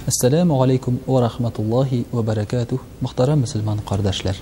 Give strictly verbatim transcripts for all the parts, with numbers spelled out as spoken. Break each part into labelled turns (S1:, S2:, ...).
S1: Ассаламу алейкум ва рахматуллахи ва баракатух. Мөхтәрәм мөселман кардәшләр.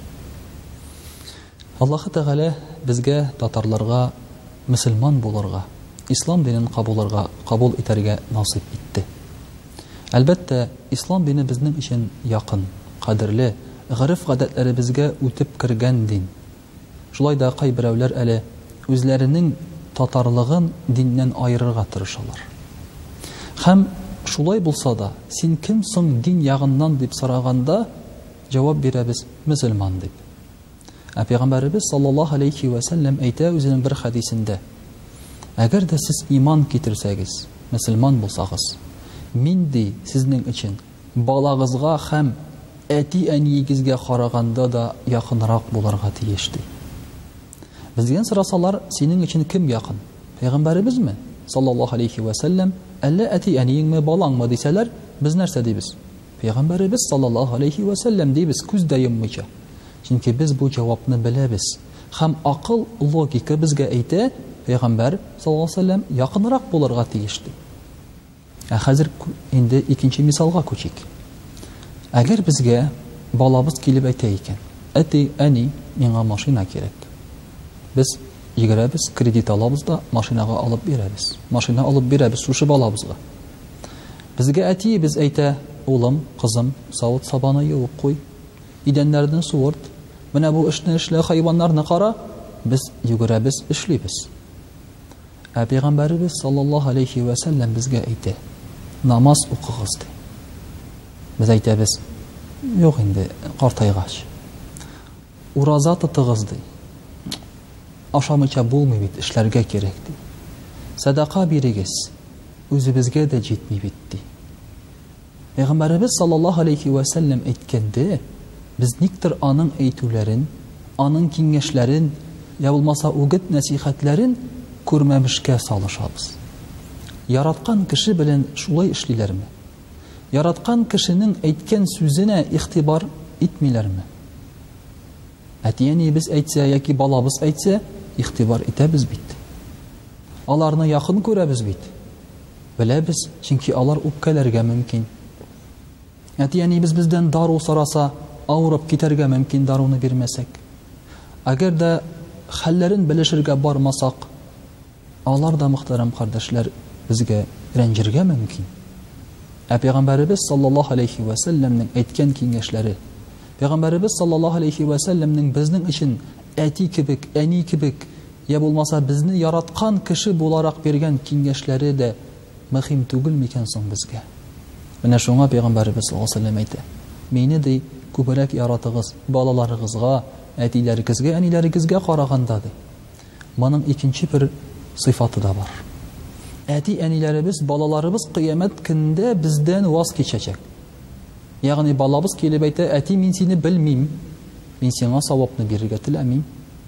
S1: Аллаһ Тәгалә безгә татарларга мөселман булырга, ислам динен кабулырга, кабул итәргә насип итте. Әлбәттә, ислам дине безнең өчен якын, кадерле, гырыф-гадәтләре безгә үтеп кергән дин. Шулай да кайберәүләр әле үзләренең татарлыгын диннән айырырга тырышалар. Һәм шулай булса да, син кем соң дин ягыннан дип сораганда, җавап бирәбез: мөселман дип. Ә Пәйгамбәрбез саллаллаһу алейхи ва саллям әйтә үзенең бер хадисендә: әгәр дә сез иман китерсәгез, мөселман булсагыз, мин ди сезнең өчен балагызга һәм әти-әниегезгә караганда да якынрак булырга тиеш ди. Безгә сорасалар, синең өчен кем якын? Пәйгамбәрбезме саллаллаһу алейхи ва саллям, әллә әти-әниеңме, балаңмы дисәләр, без нәрсә дибез? Пәйгамбәрбез саллаллаһу алейхи ва саллям дибез, күз дә йоммыйча. Чөнки без бу җавапны беләбез. Һәм акыл, логика безгә әйтә, Пәйгамбәр саллаллаһу алейхи ва саллям якынрак булырга тиеш ди. Ә хәзер инде икенче мисалга күчик. Әгәр безгә балабыз килеп әйтә икән: әти, әни, миңа машина кирәк. Без йөгерәбез, кредит алабыз да машинага алып бирәбез. Машина алып бирәбез шушы балабызга. Безгә әтиебез әйтә: улым, кызым, савыт сабаны юып куй, идәннәрне суырт, менә бу эшне эшлә, хайваннарны кара. Без йөгерәбез, эшлибез. Ә Пәйгамбәрбез саллаллаһу алейхи ва саллям безгә әйтә: намаз укыгыз ди. Без әйтәбез: юк инде, картайгач. Ураза тотыгыз ди. Ашамыйча булмый бит, эшләргә кирәк ди. Садака бирегез, үзебезгә дә җитми бит ди. Пәйгамбәрбез саллаллаһу алейхи ва саллям әйткәндә, без никтер аның әйтүләрен, аның киңәшләрен, я булмаса үгет нәсихәтләрен күрмәмешкә салышабыз. Яраткан кеше белән шулай эшлиләрме? Яраткан кешенең әйткән сүзенә игътибар итмиләрме? Әти-әниебез әйтсә яки балабыз әйтсә, игътибар итәбез бит. Аларны якын күрәбез бит. Беләбез, чөнки алар үпкәләргә мөмкин. Әти-әниебез бездән дару сораса, авырып китәргә мөмкин, даруны бирмәсәк. Әгәр дә хәлләрен белешергә бармасак, алар да, мөхтәрәм кардәшләр, безгә рәнҗергә мөмкин. Ә Пәйгамбәрбез саллаллаһу алейхи ва саллямның әйткән киңәшләре, Пәйгамбәрбез саллаллаһу алейхи ва саллямның безнең өчен әти кебек, әни кебек, я булмаса безне яраткан кеше буларак биргән киңәшләре дә мөһим түгел микән соң безгә? Менә шуңа Пәйгамбәрбез саллаллаһу алейхи ва саллям әйтә: мине ди күбрәк яратыгыз, балаларыгызга, әтиләрегезгә, әниләрегезгә караганда ди. Моның икенче бер сыйфаты да бар. Әти-әниләребез, балаларыбыз кыямәт көндә бездән ваз кичәчәк. Ягъни балабыз килеп әйтә: әти, мин сине белмим, мин сиңа савапны бирергә теләмим.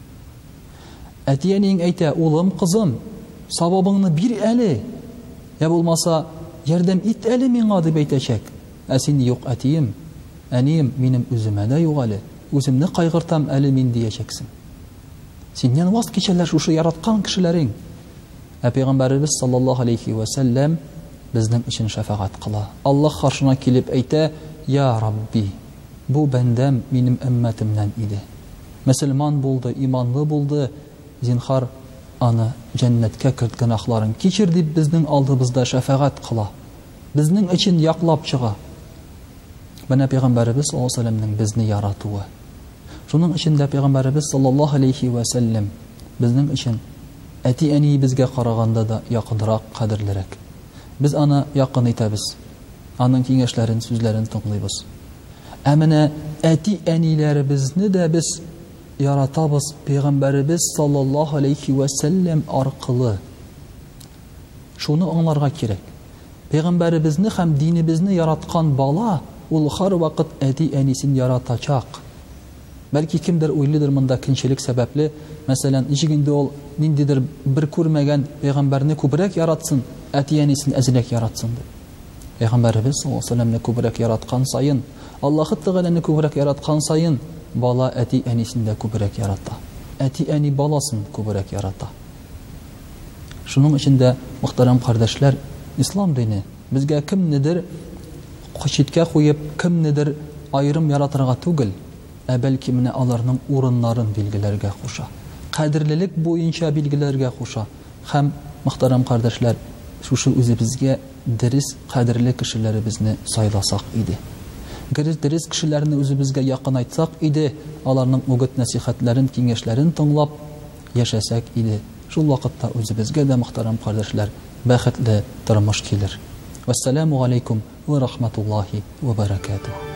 S1: Әти-әниң әйтә: улым, кызым, савабыңны бир әле, я булмаса ярдәм ит әле миңа дип әйтәчәк. Ә син: юк, әтием, әнием, минем үземә дә юк әле, үземне кайгыртам әле мин диячәксең. Синнән ваз кичәләр шушы яраткан кешеләрең. Ә Пәйгамбәрбез саллаллаһу алейхи ва саллям безнең өчен шафагать кыла. Аллаһ каршына килеп әйтә: я Рабби, бу бәндәм минем өммәтемнән иде. Мөселман булды, иманлы булды, зинхар аны җәннәткә керт, гөнаһларын кичер дип безнең алдыбызда шафагать кыла. Безнең өчен яклап чыга. Менә Пәйгамбәрбез саллаллаһу алейхи ва саллямның безне яратуы. Шуның өчен дә Пәйгамбәрбез саллаллаһу алейхи ва саллям безнең өчен әти-әни безгә караганда да якынрак, кадерлерәк. Без аны якын итәбез. Аның киңәшләрен, сүзләрен тыңлыйбыз. Ә менә әти-әниләребезне дә без яратабыз Пәйгамбәрбез саллаллаһу алейхи ва саллям аркылы. Шуны аңларга кирәк. Пәйгамбәребезне һәм динебезне яраткан бала, ул һәр вакыт әти-әнисен яратачак. Бәлки кемдер уйлыдыр монда кинчелек сәбәпле, мәсәлән, ничек инде ул ниндидер бер күрмәгән Пәйгамбәрне күбрәк яратсын, әти-әнисен әзрәк яратсын дип. Пәйгамбәрбез саллаллаһу алейхи ва саллямны күбрәк яраткан сайын, Аллаһ Тәгаләне күбрәк яраткан сайын, бала әти-әнисен дә күбрәк ярата. Әти-әни баласын күбрәк ярата. Шуның өчен дә, мөхтәрәм кардәшләр, ислам дине безгә кемнедер читкә куеп, кемнедер аерым яратырга түгел, ә бәлки менә аларның урыннарын билгеләргә куша. Кадерлелек буенча билгеләргә куша. Һәм, мөхтәрәм кардәшләр, шушы үзебезгә дөрес, кадерле кешеләребезне сайласак иде. Дөрес кешеләрне үзебезгә якын айтсак иде, аларның үгет насихатларын, киңәшләрен тыңлап яшәсәк иде. Шул вакытта үзебезгә дә, мөхтәрәм кардәшләр, бәхетле тормыш килер. Вассаламу алейкум ва рахматуллахи ва баракатуһ.